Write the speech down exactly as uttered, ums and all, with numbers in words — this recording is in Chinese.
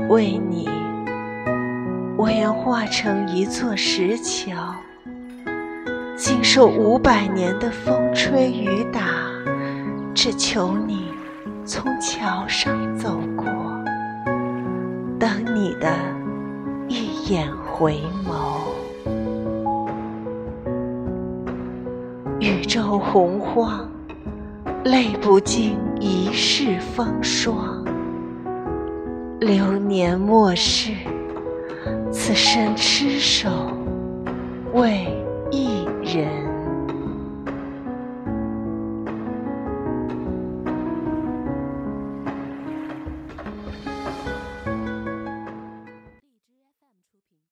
为你，我愿化成一座石桥，经受五百年的风吹雨打，只求你从桥上走过，等你的一眼回眸。宇宙洪荒，泪不尽一世风霜。流年末世，此生痴守为一人。